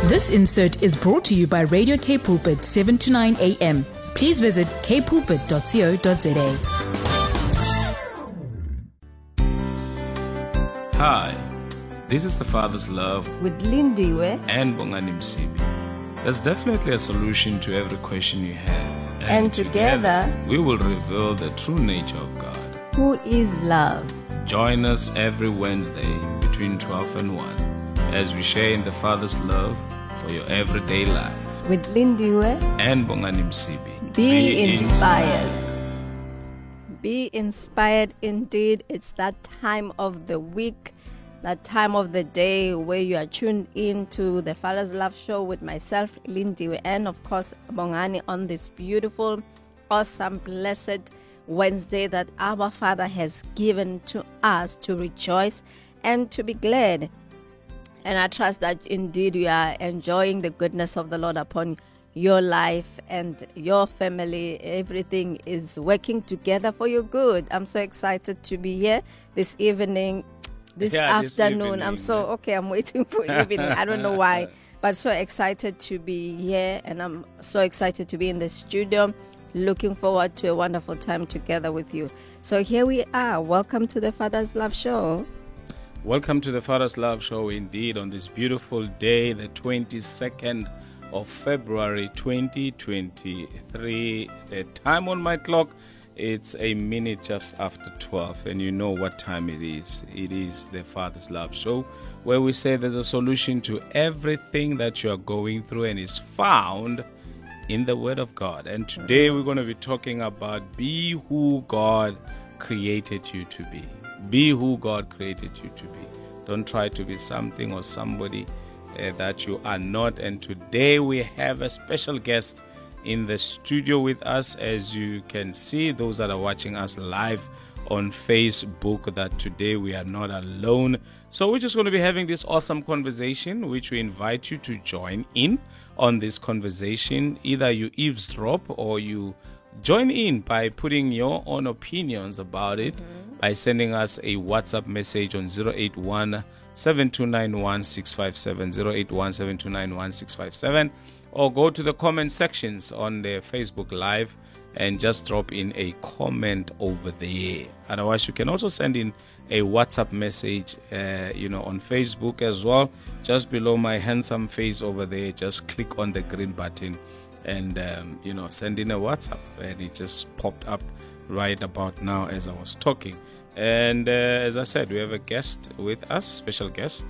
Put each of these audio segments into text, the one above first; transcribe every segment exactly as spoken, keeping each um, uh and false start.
This insert is brought to you by Radio K Pulpit, seven to nine a.m. Please visit k pulpit dot co dot za. Hi, this is The Father's Love with Lindiwe and Bongani Msibi. There's definitely a solution to every question you have. And, and together, together, we will reveal the true nature of God, who is love. Join us every Wednesday between twelve and one as we share in the Father's love for your everyday life. With Lindiwe and Bongani Msibi. Be, Be inspired. inspired. Be inspired indeed. It's that time of the week, that time of the day where you are tuned in to the Father's Love Show with myself, Lindiwe, and of course, Bongani, on this beautiful, awesome, blessed Wednesday that our Father has given to us to rejoice and to be glad. And I trust that indeed you are enjoying the goodness of the Lord upon your life and your family. Everything is working together for your good. I'm so excited to be here this evening, this yeah, afternoon. This evening, I'm so, okay, I'm waiting for evening. I don't know why, but so excited to be here. And I'm so excited to be in the studio. Looking forward to a wonderful time together with you. So here we are. Welcome to the Father's Love Show. Welcome to the Father's Love Show indeed on this beautiful day, the twenty-second of February twenty twenty-three. The time on my clock, it's a minute just after twelve, and you know what time it is. It is the Father's Love Show, where we say there's a solution to everything that you are going through and is found in the Word of God. And today we're going to be talking about be who God created you to be. Be who God created you to be. Don't try to be something or somebody uh, that you are not. And today we have a special guest in the studio with us. As you can see, those that are watching us live on Facebook, that today we are not alone. So we're just going to be having this awesome conversation, which we invite you to join in on this conversation. Either you eavesdrop or you join in by putting your own opinions about it, mm-hmm. by sending us a WhatsApp message on zero eight one, seven two nine one, six five seven, zero eight one, seven two nine one, six five seven, or go to the comment sections on the Facebook Live and just drop in a comment over there. Otherwise, you can also send in a WhatsApp message, uh, you know, on Facebook as well. Just below my handsome face over there, just click on the green button and, um, you know, send in a WhatsApp. And it just popped up right about now as I was talking. And uh, as I said, we have a guest with us, special guest,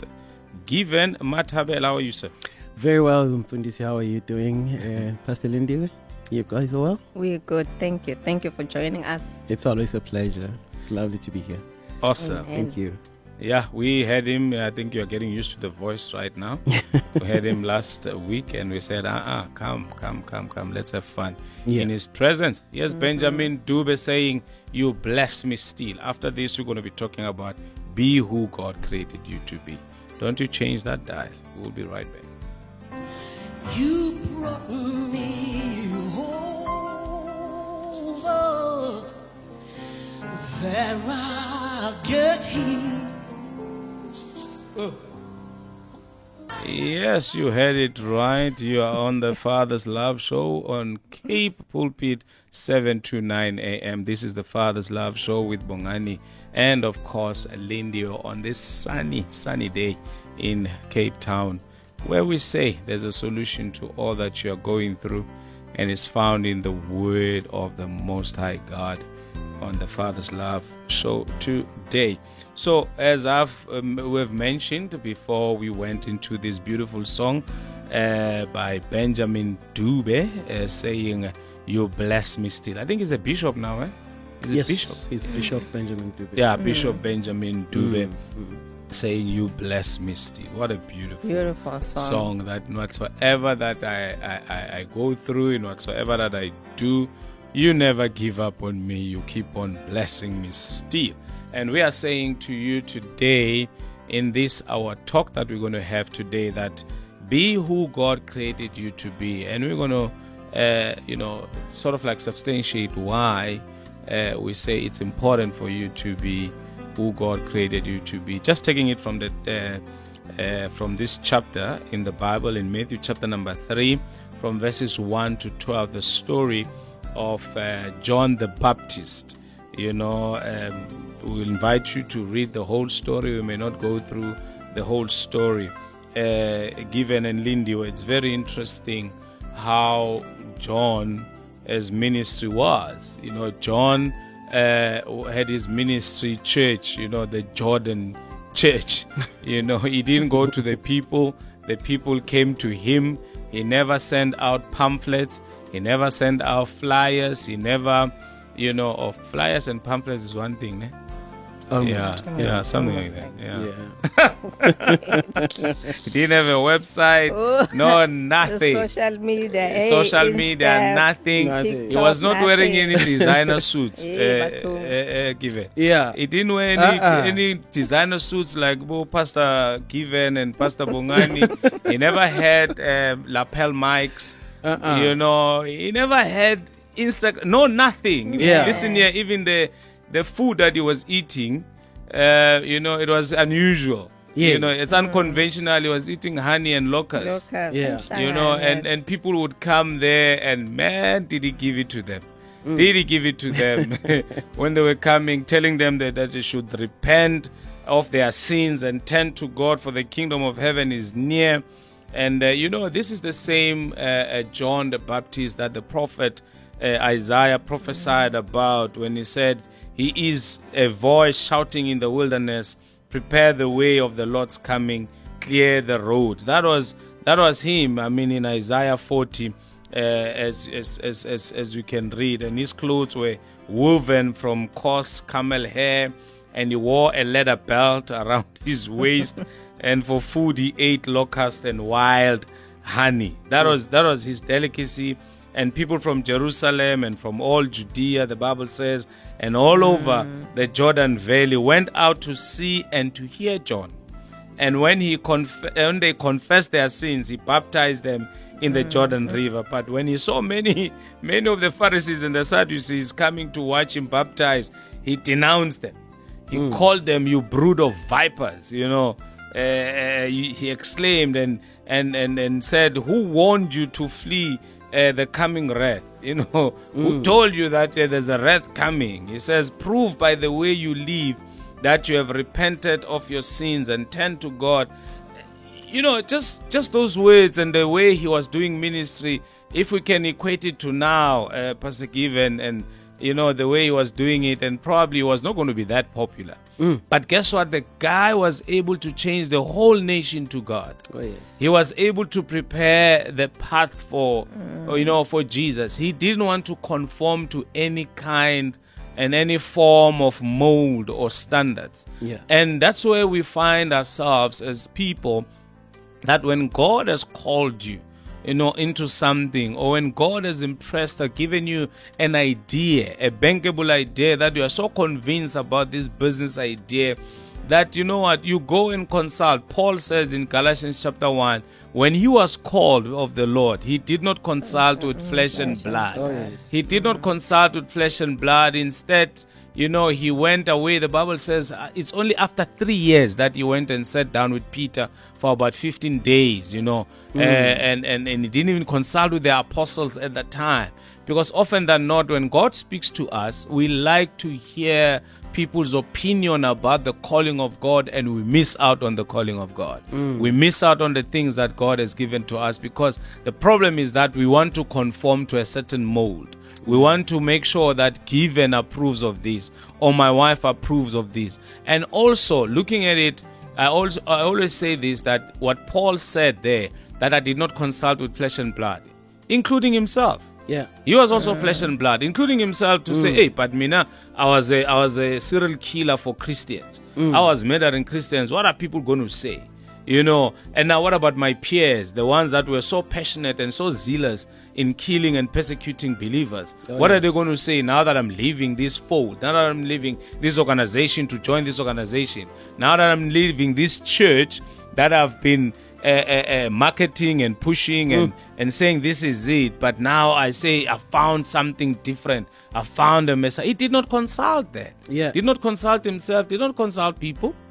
Given Mathabela. How are you, sir? Very well, Mfundisi. How are you doing? Uh, Pastor Lindiwe, you guys are well? We're good. Thank you. Thank you for joining us. It's always a pleasure. It's lovely to be here. Awesome. Amen. Thank you. Yeah, we had him. I think you're getting used to the voice right now. We had him last week and we said, uh-uh, come, come, come, come. Let's have fun yeah. in his presence. Yes, mm-hmm. Benjamin Dube saying, you bless me still. After this, we're going to be talking about be who God created you to be. Don't you change that dial. We'll be right back. You brought me over there I get here. Oh. Yes, you heard it right. You are on the Father's Love Show on Cape Pulpit, seven to nine a.m. This is the Father's Love Show with Bongani and, of course, Lindiwe on this sunny, sunny day in Cape Town, where we say there's a solution to all that you are going through, and it's found in the Word of the Most High God on the Father's Love Show today. So, as I've um, we've mentioned before, we went into this beautiful song uh, by Benjamin Dube uh, saying, "You bless me still." I think he's a bishop now, eh? Is yes, it bishop? He's Bishop Benjamin Dube. Yeah, Bishop mm. Benjamin Dube. Mm. Saying you bless me still. What a beautiful, beautiful song. song that whatsoever that I, I, I go through and whatsoever that I do, you never give up on me. You keep on blessing me still. And we are saying to you today in this our talk that we're going to have today that be who God created you to be. And we're going to uh, you know sort of like substantiate why uh, we say it's important for you to be who God created you to be. Just taking it from the uh, uh, from this chapter in the Bible, in Matthew chapter number three, from verses one to twelve, the story of uh, John the Baptist. You know, um, we'll invite you to read the whole story. We may not go through the whole story. Uh, Given and Lindy, it's very interesting how John, his ministry was. You know, John uh, had his ministry church, you know, the Jordan church. You know, he didn't go to the people. The people came to him. He never sent out pamphlets. He never sent out flyers. He never, you know, or flyers and pamphlets is one thing, eh? Almost. Yeah, Almost. yeah, something Almost like that. like Yeah. Yeah. He didn't have a website. Oh. No, The nothing. social media, hey, Social Insta, media, nothing. Nothing. He was not wearing nothing. any designer suits. Eh, uh, but, uh, uh, given. Yeah. He didn't wear any, Uh-uh. any designer suits like oh, Pastor Given and Pastor Bongani. He never had um, lapel mics. Uh-uh. You know, he never had Instagram. No, nothing. Yeah. Listen here, even the the food that he was eating, uh, you know, it was unusual. Yeah. You know, it's unconventional. He was eating honey and locusts. Local, Yeah. You know, and, and people would come there and man, did he give it to them? Did he give it to them when they were coming, telling them that, that they should repent of their sins and turn to God, for the kingdom of heaven is near. And, uh, you know, this is the same uh, uh, John the Baptist that the prophet uh, Isaiah prophesied about when he said, he is a voice shouting in the wilderness, prepare the way of the Lord's coming, clear the road. That was that was him. I mean, in Isaiah forty, uh, as, as as as as we can read, and his clothes were woven from coarse camel hair, and he wore a leather belt around his waist, and for food he ate locust and wild honey. That was that was his delicacy. And people from Jerusalem and from all Judea, the Bible says, and all over the Jordan Valley went out to see and to hear John. And when he conf- when they confessed their sins, he baptized them in the Jordan River. But when he saw many, many of the Pharisees and the Sadducees coming to watch him baptize, he denounced them. He called them, you brood of vipers, you know. Uh, he, he exclaimed and, and, and, and said, who warned you to flee Uh, the coming wrath? You know, who told you that uh, there's a wrath coming? He says, prove by the way you live that you have repented of your sins and turned to God. You know, just just those words and the way he was doing ministry, if we can equate it to now, uh, Pastor Given, and you know, the way he was doing it, and probably was not going to be that popular. Mm. But guess what? The guy was able to change the whole nation to God. Oh, yes. He was able to prepare the path for, mm. you know, for Jesus. He didn't want to conform to any kind and any form of mold or standards. Yeah. And that's where we find ourselves as people, that when God has called you, you know, into something, or when God has impressed or given you an idea, a bankable idea, that you are so convinced about this business idea that, you know what, you go and consult. Paul says in Galatians chapter one, when he was called of the Lord, he did not consult with flesh and blood. Oh, yes. He did not consult with flesh and blood. Instead, you know, he went away. The Bible says uh, it's only after three years that he went and sat down with Peter for about fifteen days, you know, mm. uh, and, and, and he didn't even consult with the apostles at that time. Because often than not, when God speaks to us, we like to hear people's opinion about the calling of God, and we miss out on the calling of God. Mm. We miss out on the things that God has given to us, because the problem is that we want to conform to a certain mold. We want to make sure that Given approves of this, or my wife approves of this. And also, looking at it, I also I always say this, that what Paul said there, that I did not consult with flesh and blood, including himself. Yeah. He was also uh, flesh and blood, including himself, to mm. say, hey, but Mina, I was a I was a serial killer for Christians. Mm. I was murdering Christians. What are people going to say? You know, and now what about my peers, the ones that were so passionate and so zealous in killing and persecuting believers? Oh, what yes. are they going to say now that I'm leaving this fold, now that I'm leaving this organization to join this organization, now that I'm leaving this church that I've been uh, uh, uh, marketing and pushing mm. and, and saying this is it, but now I say I found something different. I found a message. He did not consult that. Yeah. Did not consult himself, did not consult people.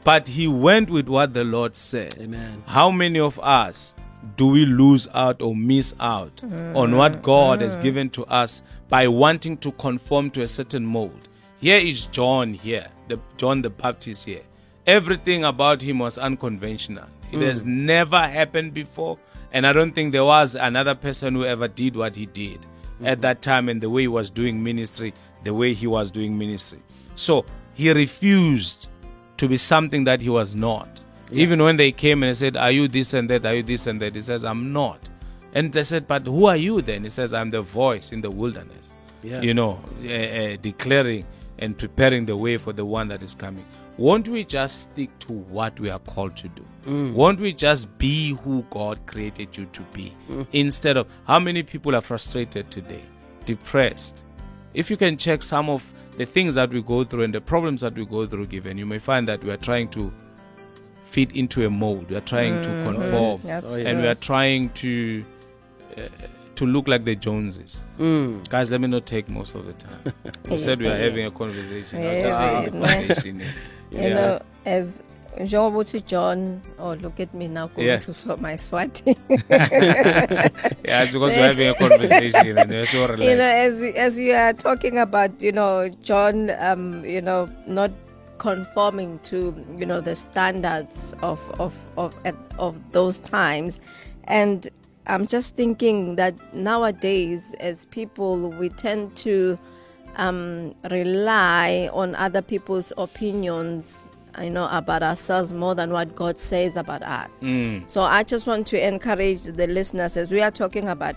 but he went with what the Lord said. Amen. How many of us do we lose out or miss out mm. on what God mm. has given to us by wanting to conform to a certain mold? Here is John here, the John the Baptist here. Everything about him was unconventional. It mm. has never happened before, and I don't think there was another person who ever did what he did mm. at that time, and the way he was doing ministry, the way he was doing ministry. So he refused to be something that he was not. Yeah. Even when they came and said, are you this and that, are you this and that? He says, I'm not. And they said, but who are you then? He says, I'm the voice in the wilderness, yeah. you know, uh, uh, declaring and preparing the way for the one that is coming. Won't we just stick to what we are called to do? Mm. Won't we just be who God created you to be? Mm. Instead of, how many people are frustrated today, depressed? If you can check some of the things that we go through and the problems that we go through, given, you may find that we are trying to fit into a mold. We are trying mm. to conform. Yes. Oh, and we are trying to uh, to look like the Joneses. Mm. Guys, let me not take most of the time. You said we are having a conversation. Yeah, I'll just yeah, have a conversation. You yeah. know, as John, John, oh, look at me now going yeah. to sort my Swati. Yeah, it's because we're having a conversation and we're so relaxed. You know, as, as you are talking about, you know, John, um, you know, not conforming to, you know, the standards of, of, of, of those times. And I'm just thinking that nowadays, as people, we tend to um, rely on other people's opinions, you know, about ourselves more than what God says about us. Mm. So I just want to encourage the listeners, as we are talking about,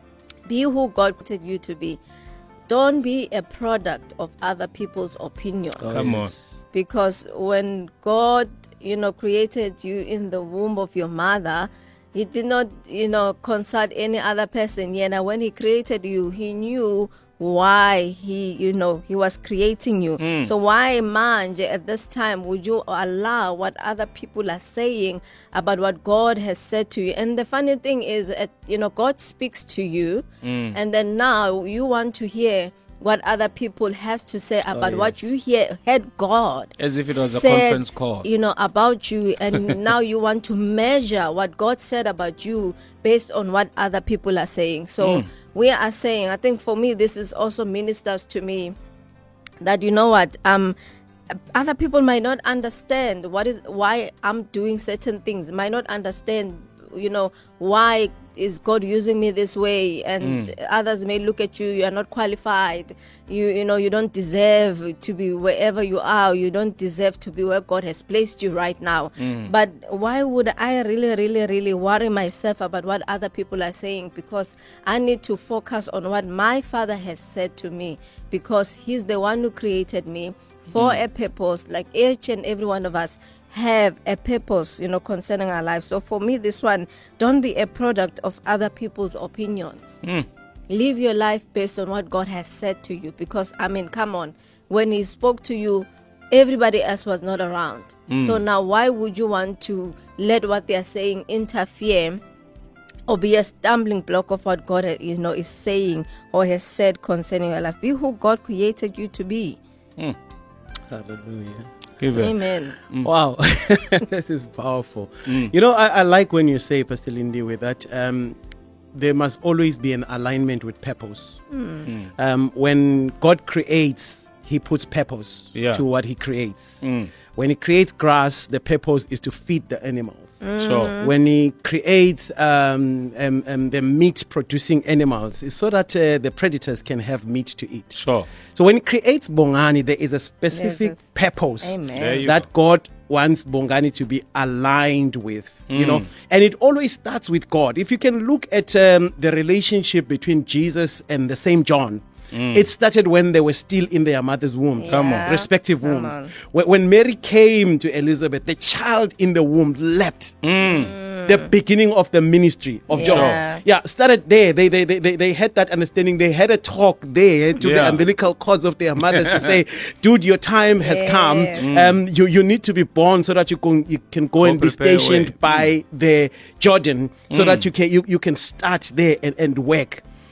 be who God wanted you to be. Don't be a product of other people's opinion. Oh, Come on. Because when God, you know, created you in the womb of your mother, He did not, you know, consult any other person. Yeah, now when He created you, He knew why he, you know, he was creating you. Mm. So why, man, at this time, would you allow what other people are saying about what God has said to you? And the funny thing is, uh, you know, God speaks to you, mm. and then now you want to hear what other people have to say about oh, yes. what you hear, heard God. As if it was said, a conference call. You know, about you, and now you want to measure what God said about you based on what other people are saying. So, mm. we are saying, I think for me, this is also ministers to me, that you know what, um, other people might not understand what is why I'm doing certain things, might not understand, you know, why is God using me this way, and mm. others may look at you, you are not qualified, you you know, you don't deserve to be wherever you are, you don't deserve to be where God has placed you right now. Mm. But why would I really, really, really worry myself about what other people are saying? Because I need to focus on what my Father has said to me, because He's the one who created me for mm. a purpose, like each and every one of us have a purpose, you know, concerning our lives. So for me, this one, don't be a product of other people's opinions. Mm. Live your life based on what God has said to you. Because, I mean, come on, when He spoke to you, everybody else was not around. Mm. So now why would you want to let what they are saying interfere or be a stumbling block of what God, you know, is saying or has said concerning your life? Be who God created you to be. Mm. Hallelujah. Amen. Mm. Wow. This is powerful. Mm. You know, I, I like when you say, Pastor Lindy, with that um, there must always be an alignment with purpose. Mm. Mm. Um, when God creates, He puts purpose yeah. to what He creates. Mm. When He creates grass, the purpose is to feed the animals. Mm. Sure. When He creates um, um, um, the meat-producing animals, it's so that uh, the predators can have meat to eat. Sure. So when He creates Bongani, there is a specific yes, purpose that go. God wants Bongani to be aligned with, mm. you know, and it always starts with God. If you can look at um, the relationship between Jesus and the same John, Mm. it started when they were still in their mother's womb, yeah. Come on. respective Come wombs. on. When, when Mary came to Elizabeth, the child in the womb leapt. Mm. The beginning of the ministry of yeah. John. Yeah, started there. They, they they they they had that understanding. They had a talk there to yeah. the umbilical cords of their mothers to say, dude, your time has yeah. come. Mm. Um, you, you need to be born so that you can you can go, go and be stationed away. by mm. the Jordan, so mm. that you can you, you can start there and, and work.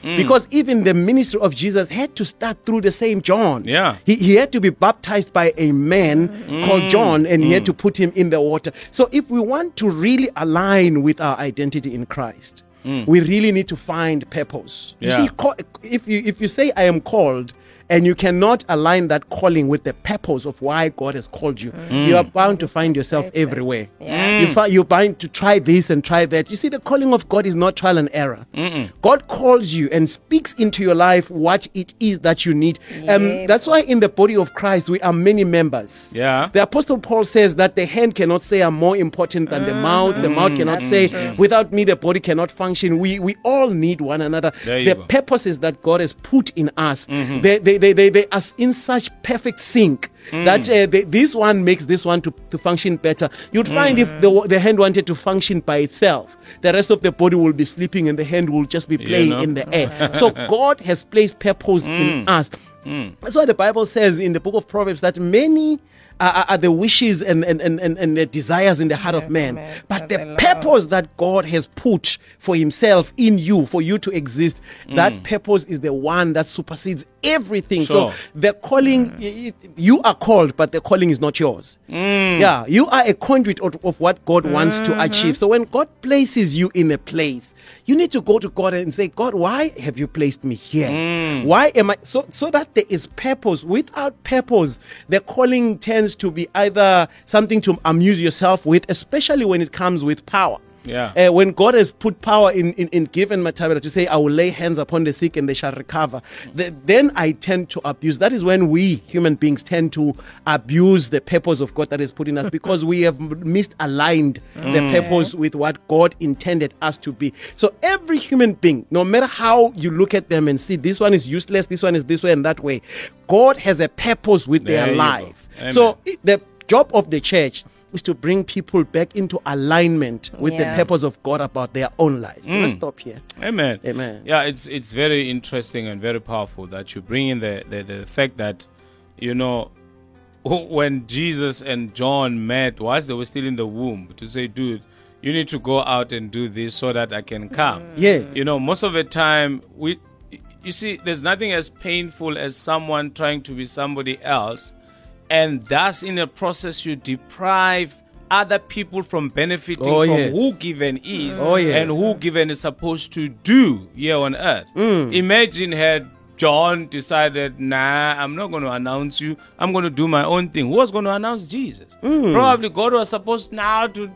Because even the ministry of Jesus had to start through the same John. Yeah. He, he had to be baptized by a man called John, and he had to put him in the water. So if we want to really align with our identity in Christ, we really need to find purpose. Yeah. You see, ca- if you if you say I am called, and you cannot align that calling with the purpose of why God has called you, you are bound to find yourself everywhere. Yeah. You fi- you're bound to try this and try that. You see, the calling of God is not trial and error. God calls you and speaks into your life what it is that you need. Um, Yep. that's why in the body of Christ, we are many members. Yeah. The Apostle Paul says that the hand cannot say I'm more important than the mouth. The mouth cannot That's say, true. without me, the body cannot function. We we all need one another. There you The go. purposes that God has put in us, they, they, they, they, they are in such perfect sync that uh, they, this one makes this one to, to function better. You'd find if the, the hand wanted to function by itself, the rest of the body will be sleeping and the hand will just be playing know? in the air. So God has placed purpose in us. That's why the Bible says in the book of Proverbs that many are, are the wishes and, and, and, and, and the desires in the heart of man. man. But But the they love. purpose that God has put for himself in you, for you to exist, that purpose is the one that supersedes everything. Sure. So the calling, y- y- you are called, but the calling is not yours. Yeah, you are a conduit of, of what God wants to achieve. So when God places you in a place, you need to go to God and say, God, why have you placed me here? Why am I so so that there is purpose? Without purpose, the calling tends to be either something to amuse yourself with, especially when it comes with power. Yeah. Uh, when God has put power in, in, in given material to say, I will lay hands upon the sick and they shall recover, th- then I tend to abuse. That is when we human beings tend to abuse the purpose of God that is put in us because we have misaligned the purpose with what God intended us to be. So every human being, no matter how you look at them and see this one is useless, this one is this way and that way, God has a purpose with There their you go. life. Amen. So i- the job of the church is to bring people back into alignment with Yeah. the purpose of God about their own lives. Let's stop here. Amen. Amen. Yeah, it's it's very interesting and very powerful that you bring in the, the, the fact that, you know, when Jesus and John met, whilst they were still in the womb, to say, dude, you need to go out and do this so that I can come. Yes. You know, most of the time, we, you see, there's nothing as painful as someone trying to be somebody else, and thus in the process you deprive other people from benefiting Oh, from yes. who given is Oh, yes. and who given is supposed to do here on earth. Imagine had John decided, nah, I'm not going to announce you. I'm going to do my own thing. Who was going to announce Jesus? Probably God was supposed now to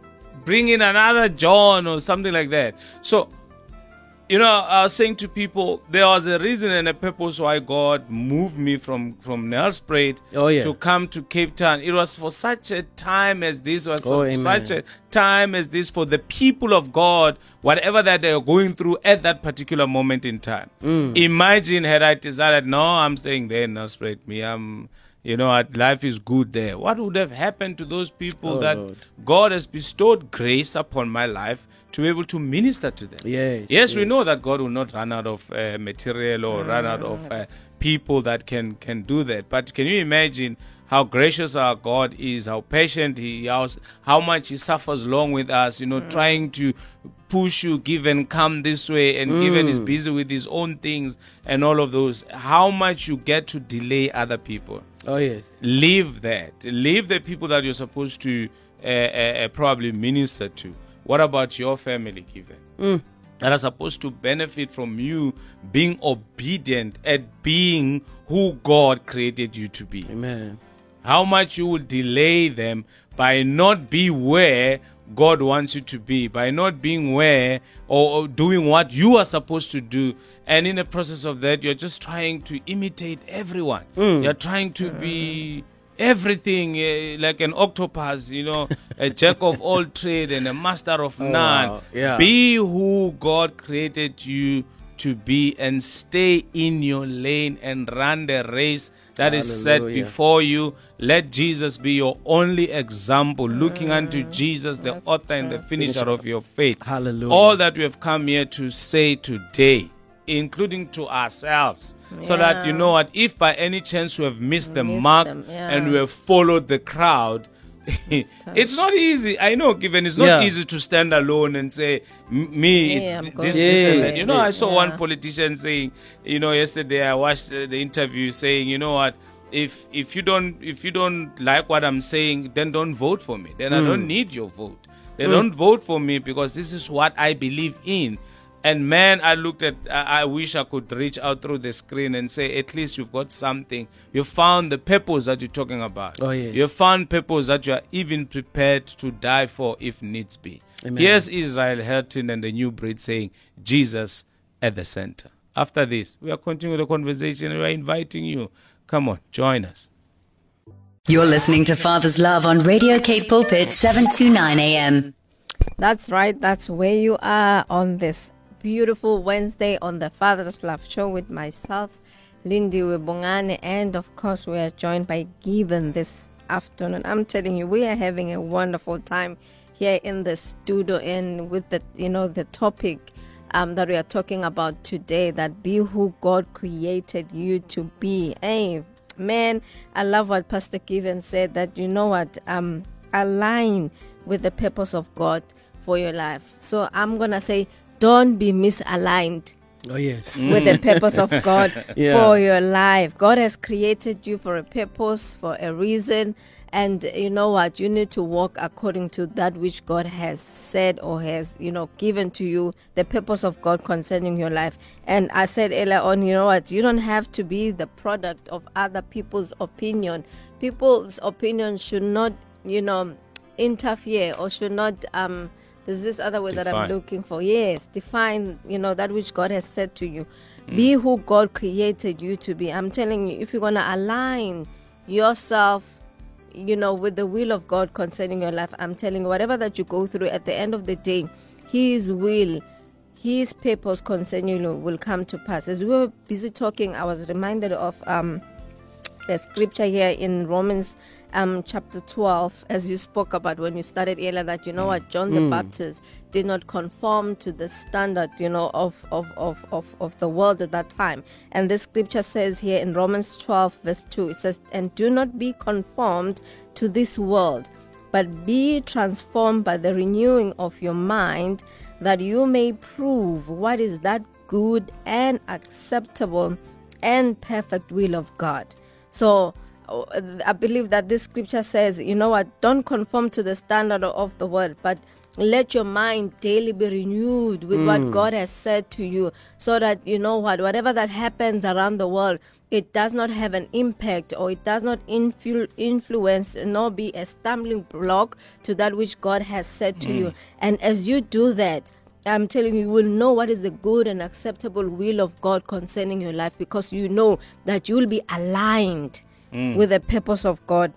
bring in another John or something like that. So, you know, I was saying to people, there was a reason and a purpose why God moved me from, from Nelspruit Oh, yeah. to come to Cape Town. It was for such a time as this, was Oh, for amen. such a time as this, for the people of God, whatever that they are going through at that particular moment in time. Mm. Imagine had I decided, no, I'm staying there in Nelspruit. Me, I'm, you know, what, life is good there. What would have happened to those people Oh, that Lord. God has bestowed grace upon my life to be able to minister to them? Yes, Yes, we yes. know that God will not run out of uh, material or run out of uh, people that can, can do that. But can you imagine how gracious our God is, how patient He is, how much He suffers along with us, you know, trying to push you, give and come this way, and given is busy with His own things and all of those. How much you get to delay other people. Oh, yes. Leave that. Leave the people that you're supposed to uh, uh, uh, probably minister to. What about your family, Given? That are supposed to benefit from you being obedient at being who God created you to be. Amen. How much you will delay them by not be where God wants you to be, by not being where or, or doing what you are supposed to do. And in the process of that, you're just trying to imitate everyone. You're trying to be everything, uh, like an octopus, you know, a jack of all trade and a master of none. wow. Yeah. Be who God created you to be and stay in your lane and run the race that is set Hallelujah. before you. Let Jesus be your only example, looking unto Jesus, the author and the finisher of your faith. Hallelujah. All that we have come here to say today, including to ourselves, so that you Yeah. know what, if by any chance we have missed the Missed mark them, yeah. and we have followed the crowd, It's not easy. I know, given it's not Yeah. easy to stand alone and say, "M- me, Yeah, it's I'm th- going this, this this, and way. that. You know, I saw Yeah. one politician saying, you know, yesterday I watched uh, the interview saying, you know what, if if you don't if you don't like what I'm saying, then don't vote for me. Then I don't need your vote. Then don't vote for me because this is what I believe in. And man, I looked at, I, I wish I could reach out through the screen and say, at least you've got something. You found the purpose that you're talking about. Oh, yes. You found purpose that you are even prepared to die for if needs be. Amen. Here's Israel Hilton and the New Breed saying, Jesus at the center. After this, we are continuing the conversation. We are inviting you. Come on, join us. You're listening to Father's Love on Radio Cape Pulpit, seven twenty-nine A M. That's right. That's where you are on this beautiful Wednesday on the Father's Love Show with myself, Lindy Webongane, and of course we are joined by Given this afternoon. I'm telling you, we are having a wonderful time here in the studio, and with the you know the topic um, that we are talking about today, that be who God created you to be. Hey, man, I love what Pastor Given said, that you know what, um, align with the purpose of God for your life. So I'm gonna say, don't be misaligned Oh, yes. with the purpose of God Yeah. for your life. God has created you for a purpose, for a reason. And you know what? You need to walk according to that which God has said or has, you know, given to you, the purpose of God concerning your life. And I said earlier on, you know what? You don't have to be the product of other people's opinion. People's opinion should not, you know, interfere or should not, um, there's this other word that I'm Define. looking for. Yes, define, you know, that which God has said to you. Be who God created you to be. I'm telling you, if you're going to align yourself, you know, with the will of God concerning your life, I'm telling you, whatever that you go through, at the end of the day, His will, His purpose concerning you will come to pass. As we were busy talking, I was reminded of um, the scripture here in Romans um, chapter twelve, as you spoke about when you started earlier, that you know what, John the Baptist did not conform to the standard, you know, of, of, of, of, of the world at that time. And this scripture says here in Romans twelve verse two, it says, and do not be conformed to this world, but be transformed by the renewing of your mind, that you may prove what is that good and acceptable and perfect will of God. So I believe that this scripture says, you know what, don't conform to the standard of the world, but let your mind daily be renewed with what God has said to you, so that, you know what, whatever that happens around the world, it does not have an impact, or it does not influ- influence nor be a stumbling block to that which God has said to you. And as you do that, I'm telling you, you will know what is the good and acceptable will of God concerning your life, because you know that you will be aligned with the purpose of God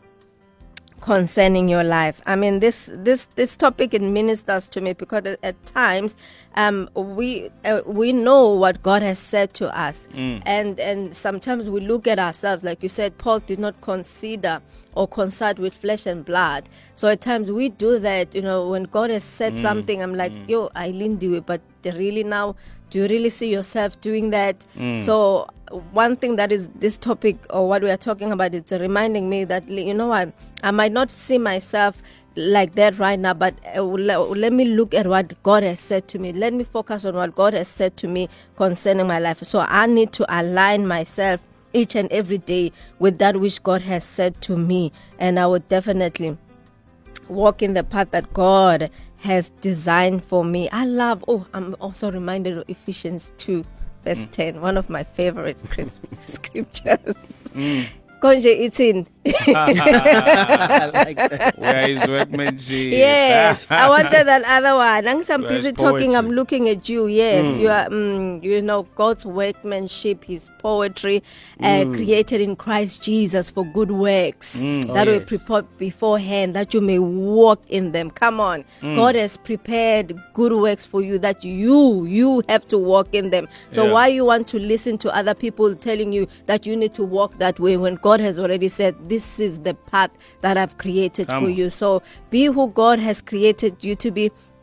concerning your life. I mean, this this this topic, it ministers to me, because at, at times um we uh, we know what God has said to us, and and sometimes we look at ourselves, like you said, Paul did not consider or consult with flesh and blood. So at times we do that, you know, when God has said something, I'm like, yo, Eileen do it, but really now, do you really see yourself doing that? So one thing that is this topic, or what we are talking about, it's reminding me that, you know what, I might not see myself like that right now, but uh, let, let me look at what God has said to me. Let me focus on what God has said to me concerning my life. So I need to align myself each and every day with that which God has said to me, and I would definitely walk in the path that God has designed for me. I love, oh, I'm also reminded of Ephesians two verse mm. ten, one of my favorite scriptures. Mm. Konje eating. I like that. Where is workmanship? Yes, I wanted that other one. I'm so Where's busy talking. poetry? I'm looking at you. Yes, Mm. you are. Um, you know, God's workmanship, His poetry, uh, Mm. created in Christ Jesus for good works Mm. that Oh, were yes. prepared beforehand, that you may walk in them. Come on, Mm. God has prepared good works for you that you you have to walk in them. So Yeah. why you want to listen to other people telling you that you need to walk that way when God has already said this is the path that I've created Come for on. you? So be who God has created you to be.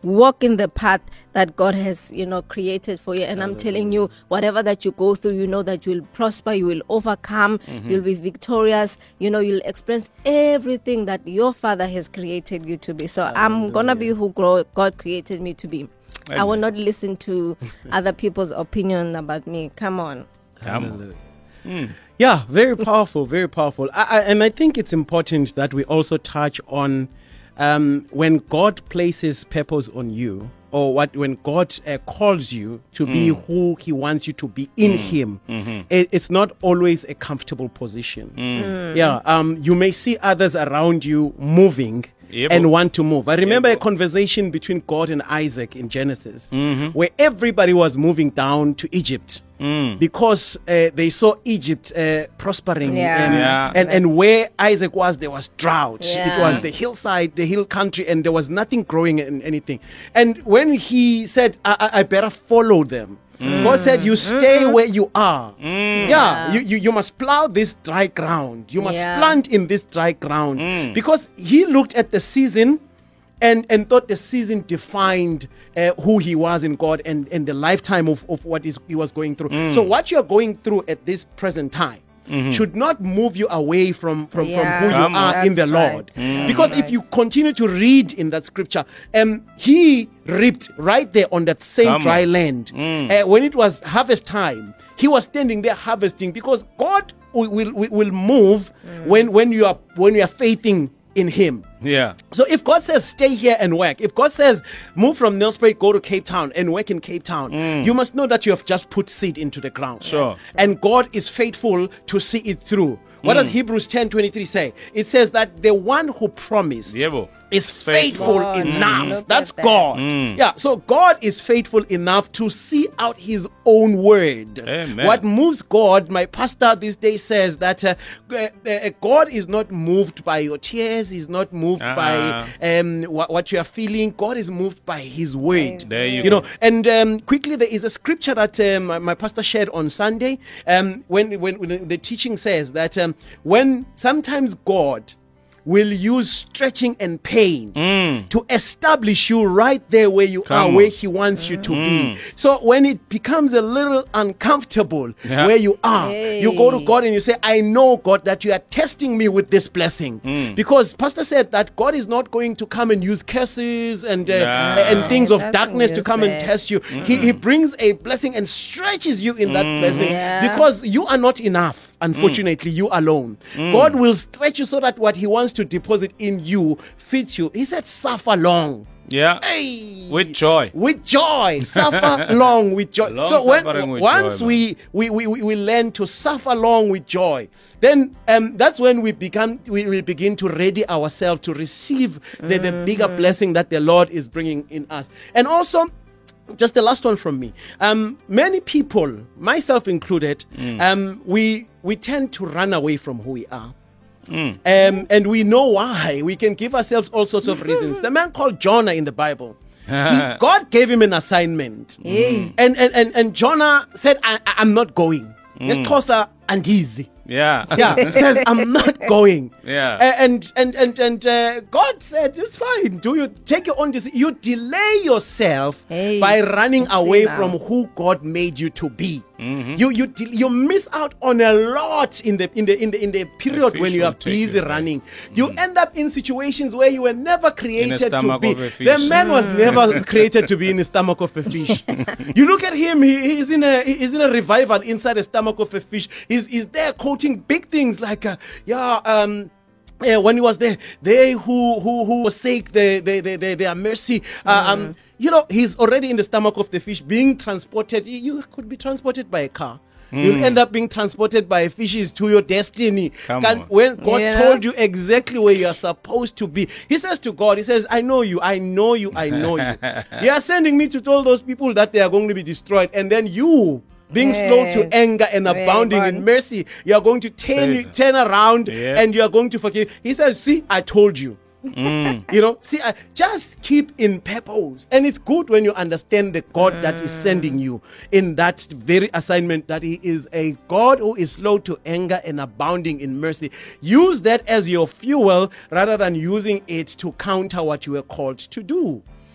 walk in the path that God has, you know, created for you. And I'm telling you, whatever that you go through, you know that you will prosper, you will overcome, mm-hmm. you'll be victorious, you know, you'll experience everything that your Father has created you to be. So Hallelujah. I'm going to be who God created me to be. Amen. I will not listen to other people's opinion about me. Come on. Come on. Mm. Yeah, very powerful, very powerful. I, I, and I think it's important that we also touch on um, when God places purpose on you, or what when God uh, calls you to mm. be who He wants you to be in mm. Him. Mm-hmm. It, it's not always a comfortable position. Mm. Mm. Yeah, um, you may see others around you moving. Yep. And want to move. I remember yep. a conversation between God and Isaac in Genesis, mm-hmm. where everybody was moving down to Egypt mm. because uh, they saw Egypt uh, prospering, yeah. And, yeah. and and where Isaac was, there was drought. Yeah. It was the hillside, the hill country, and there was nothing growing in anything. And when he said, "I, I, I better follow them," Mm. God said, you stay mm-hmm. where you are. Mm. Yeah, yeah. You, you you must plow this dry ground. You must yeah. plant in this dry ground. Mm. Because he looked at the season and, and thought the season defined uh, who he was in God and, and the lifetime of, of what is, he was going through. Mm. So what you're going through at this present time Mm-hmm. should not move you away from, from, yeah, from who you are in the right. Lord. Mm. Because right. if you continue to read in that scripture, um, he reaped right there on that same Come dry on. land. Mm. Uh, when it was harvest time, he was standing there harvesting, because God will, will, will move mm. when, when, you are, when you are faithing in him. Yeah. So if God says stay here and work, if God says move from Nelspruit, go to Cape Town and work in Cape Town, mm. you must know that you have just put seed into the ground. Sure. And God is faithful to see it through. What mm. does Hebrews ten twenty-three say? It says that the one who promised Yebo. is faithful God. enough. Mm. That's that. God. Mm. Yeah. So God is faithful enough to see out his own word. Amen. What moves God, my pastor this day says that uh, uh, uh, God is not moved by your tears. He's not moved uh-huh. by um, what, what you are feeling. God is moved by his word. There you, you go. know, and um, quickly, there is a scripture that um, my, my pastor shared on Sunday. Um, when, when when the teaching says that um, when sometimes God will use stretching and pain mm. to establish you right there where you Come are, on. where he wants you to Mm. be. So when it becomes a little uncomfortable Yeah. where you are, Hey. you go to God and you say, I know, God, that you are testing me with this blessing. Mm. Because Pastor said that God is not going to come and use curses and, uh, Nah. and things of Doesn't darkness to use come and that. test you. He, he brings a blessing and stretches you in that blessing Yeah. because you are not enough. Unfortunately, you alone. God will stretch you so that what he wants to deposit in you fits you. He said, suffer long. Yeah. Hey. With joy. With joy. Suffer long with joy. Long so when, suffering with once joy, we, we, we, we, we learn to suffer long with joy, then um, that's when we become we, we begin to ready ourselves to receive the, the bigger blessing that the Lord is bringing in us. And also, just the last one from me. Um, many people, myself included, mm. um, we we tend to run away from who we are. Mm. Um, and we know why. We can give ourselves all sorts of reasons. The man called Jonah in the Bible, he, God gave him an assignment. Mm. And, and, and, and Jonah said, I, I'm not going. Mm. Let's cause her uneasy. Yeah. Yeah, he says, I'm not going. Yeah. A- And and and and uh, God said, it's fine. Do you take your own decision? You delay yourself Hey, by running I see away now. from who God made you to be. Mm-hmm. You you de- you miss out on a lot in the in the in the in the period fish when you will are take busy you, right? running. You end up in situations where you were never created to stomach be. of a fish. The man was never created to be in the stomach of a fish. You look at him; he, he's in a he's in a revival inside the stomach of a fish. He's he's there quoting big things like, uh, yeah, um. Yeah, when he was there, they who who who forsake the the the, the their mercy, uh, um, you know, he's already in the stomach of the fish, being transported. You, you could be transported by a car. You'll end up being transported by fishes to your destiny. Come Can- on. When God Yeah. told you exactly where you are supposed to be, He says to God, He says, "I know you, I know you, I know you." You are sending me to tell those people that they are going to be destroyed, and then you. Being slow to Yes. anger and Very abounding in good. mercy, you are going to turn, Save. turn around Yeah. and you are going to forgive. He says, see, I told you. You know, see, I, just keep in purpose. And it's good when you understand the God that is sending you in that very assignment, that He is a God who is slow to anger and abounding in mercy. Use that as your fuel rather than using it to counter what you were called to do.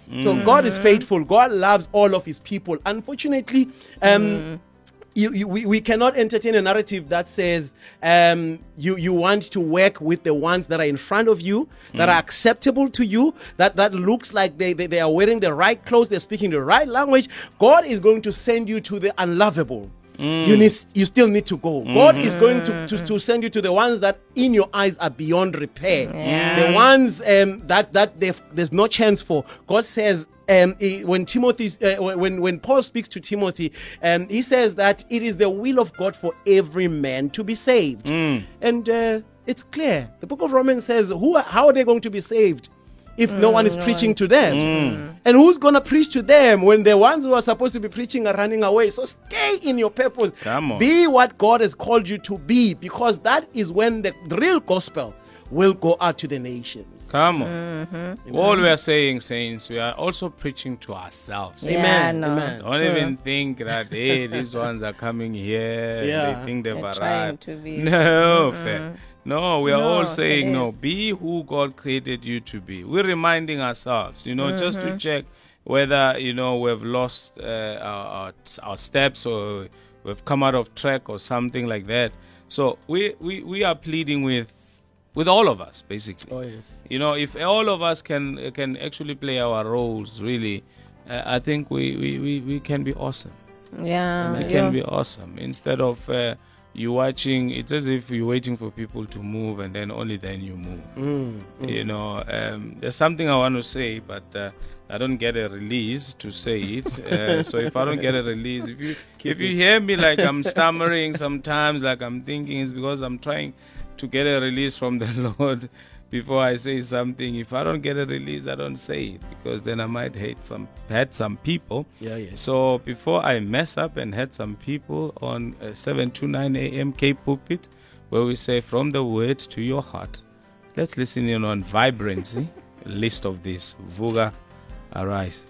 So God is faithful. God loves all of his people. Unfortunately, um, you, you, we, we cannot entertain a narrative that says um, you, you want to work with the ones that are in front of you, that are acceptable to you, that, that looks like they, they, they are wearing the right clothes, they're speaking the right language. God is going to send you to the unlovable. Mm. You need, you still need to go. Mm-hmm. God is going to, to, to send you to the ones that in your eyes are beyond repair. Yeah. The ones um, that, that there's no chance for. God says, um, he, when Timothy, uh, when, when Paul speaks to Timothy, um, he says that it is the will of God for every man to be saved. Mm. And uh, it's clear. The book of Romans says, who are, how are they going to be saved if mm, no one is no preaching to them? Mm. And who's going to preach to them when the ones who are supposed to be preaching are running away? So stay in your purpose. Come on. Be what God has called you to be, because that is when the real gospel will go out to the nations. Come on. Mm-hmm. All we are saying, saints, we are also preaching to ourselves. Yeah, Amen. no. Amen. Don't True. even think that, hey, these ones are coming here. Yeah. They think they've They're arrived. trying to be- No, Mm-mm. fair. No, we are No, all saying, it no, is. be who God created you to be. We're reminding ourselves, you know, Mm-hmm. just to check whether, you know, we've lost uh, our, our, our steps or we've come out of track or something like that. So we, we, we are pleading with with all of us, basically. Oh, yes. You know, if all of us can can actually play our roles, really, uh, I think we, we, we, we can be awesome. Yeah. We yeah. can be awesome. Instead of uh, you watching, it's as if you're waiting for people to move and then only then you move. Mm, mm. You know, um, there's something I want to say, but uh, I don't get a release to say it. Uh, so if I don't get a release, if you if you hear me like I'm stammering sometimes, like I'm thinking, it's because I'm trying to get a release from the Lord before I say something. If I don't get a release, I don't say it, because then I might hate some hurt some people. Yeah, yeah. So before I mess up and hurt some people on uh, seven to nine a.m. Cape Pulpit, where we say from the word to your heart, let's listen in on Vibrancy, a list of this. Vuga, arise.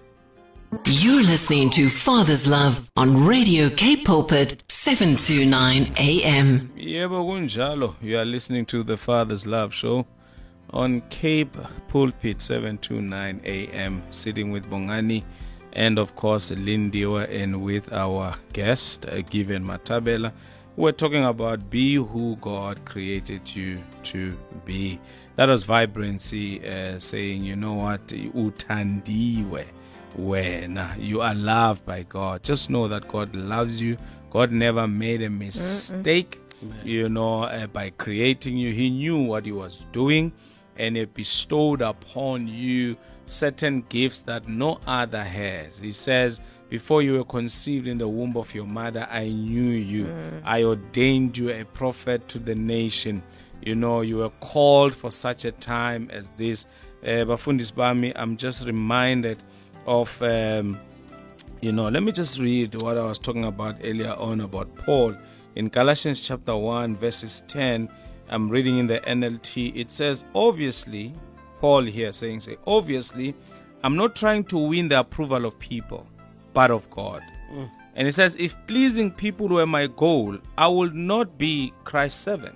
You're listening to Father's Love on Radio Cape Pulpit, seven to nine a.m. Yebo kunjalo. You are listening to the Father's Love Show on Cape Pulpit, seven to nine a.m. Sitting with Bongani and, of course, Lindiwa, and with our guest, uh, Given Matabela. We're talking about be who God created you to be. That was Vibrancy uh, saying, you know what, utandiwe. When you are loved by God, just know that God loves you. God never made a mistake, Mm-mm. you know, uh, by creating you. He knew what he was doing, and he bestowed upon you certain gifts that no other has. He says, before you were conceived in the womb of your mother, I knew you. Mm. I ordained you a prophet to the nation. You know, you were called for such a time as this. Uh, Bafundis Bami, I'm just reminded of, um, you know, let me just read what I was talking about earlier on about Paul. In Galatians chapter one, verses ten, I'm reading in the N L T. It says, obviously, Paul here saying, say, obviously, I'm not trying to win the approval of people, but of God. Mm. And it says, if pleasing people were my goal, I will not be Christ's servant.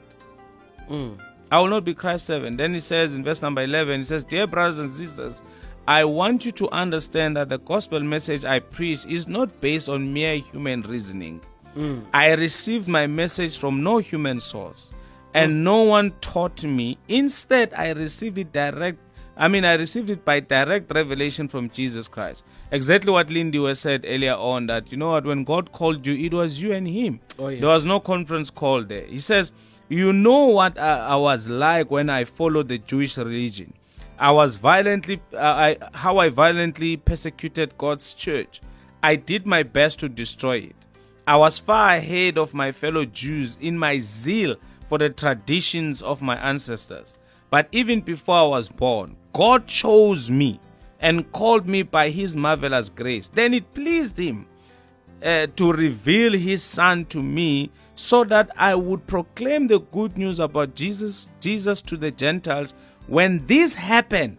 Mm. I will not be Christ's servant. Then he says in verse number eleven, he says, dear brothers and sisters, I want you to understand that the gospel message I preach is not based on mere human reasoning. Mm. I received my message from no human source, and mm. no one taught me. Instead, I received it direct. I mean, I received it by direct revelation from Jesus Christ. Exactly what Lindy was said earlier on, that, you know what, when God called you, it was you and him. Oh, yes. There was no conference call there. He says, you know what I, I was like when I followed the Jewish religion. I was violently, uh, I, how I violently persecuted God's church. I did my best to destroy it. I was far ahead of my fellow Jews in my zeal for the traditions of my ancestors. But even before I was born, God chose me and called me by his marvelous grace. Then it pleased him uh, to reveal his son to me so that I would proclaim the good news about Jesus, Jesus to the Gentiles. When this happened,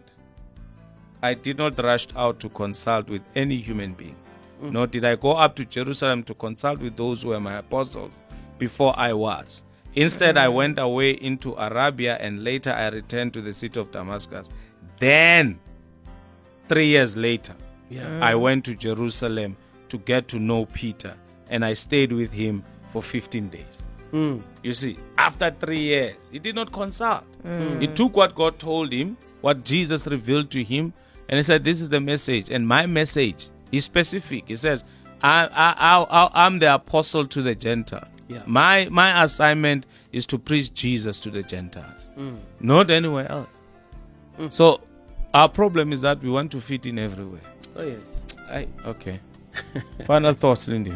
I did not rush out to consult with any human being, mm. nor did I go up to Jerusalem to consult with those who were my apostles before I was. Instead, I went away into Arabia, and later I returned to the city of Damascus. Then three years later, Yeah. I went to Jerusalem to get to know Peter, and I stayed with him for fifteen days. Mm. You see, after three years, he did not consult. He took what God told him, what Jesus revealed to him, and he said, this is the message. And my message is specific. He says, I, I, I, I'm the apostle to the Gentiles. Yeah. My, my assignment is to preach Jesus to the Gentiles, Mm. not anywhere else. So our problem is that we want to fit in everywhere. Oh, yes. I, okay. Final thoughts, Lindy.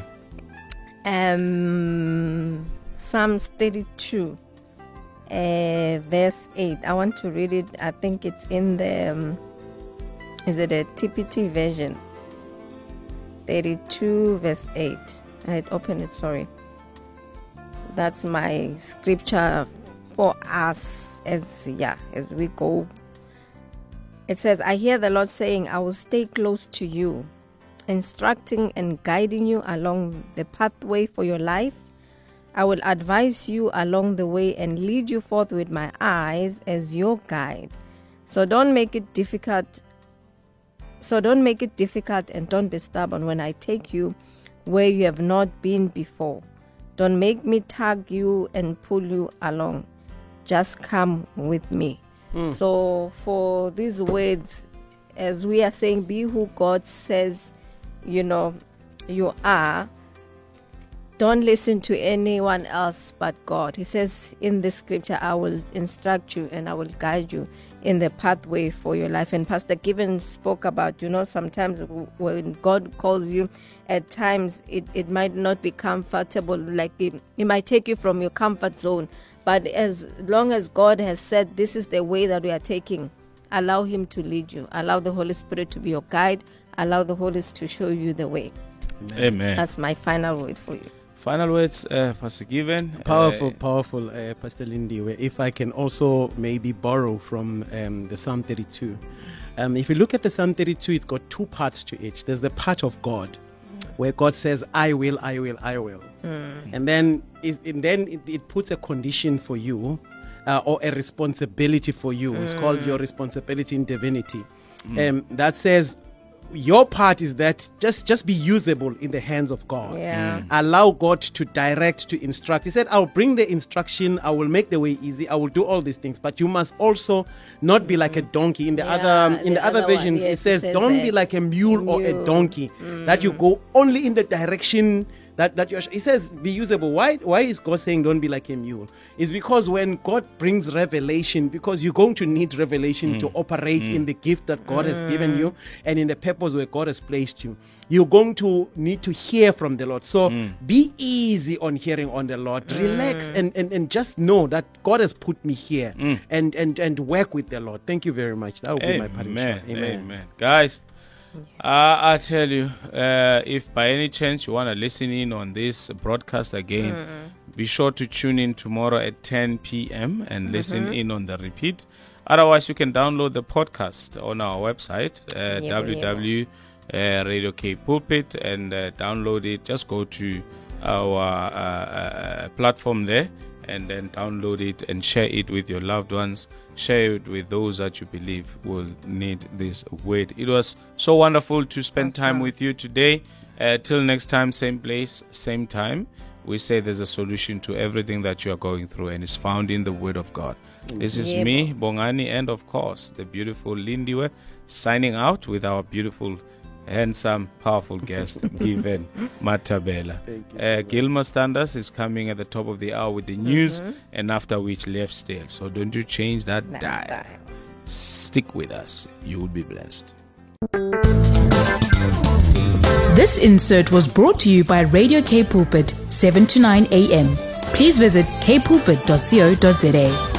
Um, Psalms thirty-two, uh, verse eight. I want to read it. I think it's in the, um, is it a T P T version? thirty-two, verse eight. I had opened it, sorry. That's my scripture for us as, yeah, as we go. It says, I hear the Lord saying, I will stay close to you, instructing and guiding you along the pathway for your life. I will advise you along the way and lead you forth with my eyes as your guide. So don't make it difficult. So don't make it difficult and don't be stubborn when I take you where you have not been before. Don't make me tug you and pull you along. Just come with me. Mm. So for these words, as we are saying, be who God says, you know, you are. Don't listen to anyone else but God. He says in the scripture, I will instruct you and I will guide you in the pathway for your life. And Pastor Given spoke about, you know, sometimes when God calls you, at times it, it might not be comfortable. Like it, it might take you from your comfort zone. But as long as God has said, this is the way that we are taking, allow him to lead you. Allow the Holy Spirit to be your guide. Allow the Holy Spirit to show you the way. Amen. That's my final word for you. Final words, uh, Pastor Given. Powerful, Uh, powerful, uh, Pastor Lindy. Where if I can also maybe borrow from um, the Psalm thirty-two. Um, if you look at the Psalm thirty-two, it's got two parts to it. There's the part of God, where God says, I will, I will, I will. Mm. And then, it, and then it, it puts a condition for you, uh, or a responsibility for you. Mm. It's called your responsibility in divinity. Mm. Um, that says, your part is that just just be usable in the hands of God. Yeah. Mm. Allow God to direct, to instruct. He said, I'll bring the instruction, I will make the way easy, I will do all these things, but you must also not be like a donkey. In the Yeah, other um, in the the, other, other one, versions, yes, it it says, says don't that. be like a mule, Mule. or a donkey, that you go only in the direction that, that you're. He says, be usable. Why why is God saying don't be like a mule? It's because when God brings revelation, because you're going to need revelation to operate in the gift that God has given you and in the purpose where God has placed you, you're going to need to hear from the Lord. So be easy on hearing on the Lord. Relax and, and, and just know that God has put me here and, and, and work with the Lord. Thank you very much. That would be my parting shot. Amen. Amen. Amen. Guys, uh, I tell you, uh, if by any chance you want to listen in on this broadcast again, mm. be sure to tune in tomorrow at ten p.m. and mm-hmm. listen in on the repeat. Otherwise, you can download the podcast on our website, uh, yeah, w w w dot radio k pulpit, and uh, download it. Just go to our uh, uh, platform there and then download it and share it with your loved ones. Share it with those that you believe will need this word. It was so wonderful to spend That's time right. with you today. Uh, till next time, same place, same time. We say there's a solution to everything that you are going through, and it's found in the Word of God. Mm-hmm. This is yeah. me, Bongani, and of course, the beautiful Lindiwe, signing out with our beautiful, handsome, powerful guest, Given Matabela. Uh, Gilmer Standards is coming at the top of the hour with the news, mm-hmm. and after which, Left Stale. So don't you change that Not dial. dial. Stick with us. You will be blessed. This insert was brought to you by Radio K Pulpit, seven to nine a.m. Please visit k pulpit dot co dot za.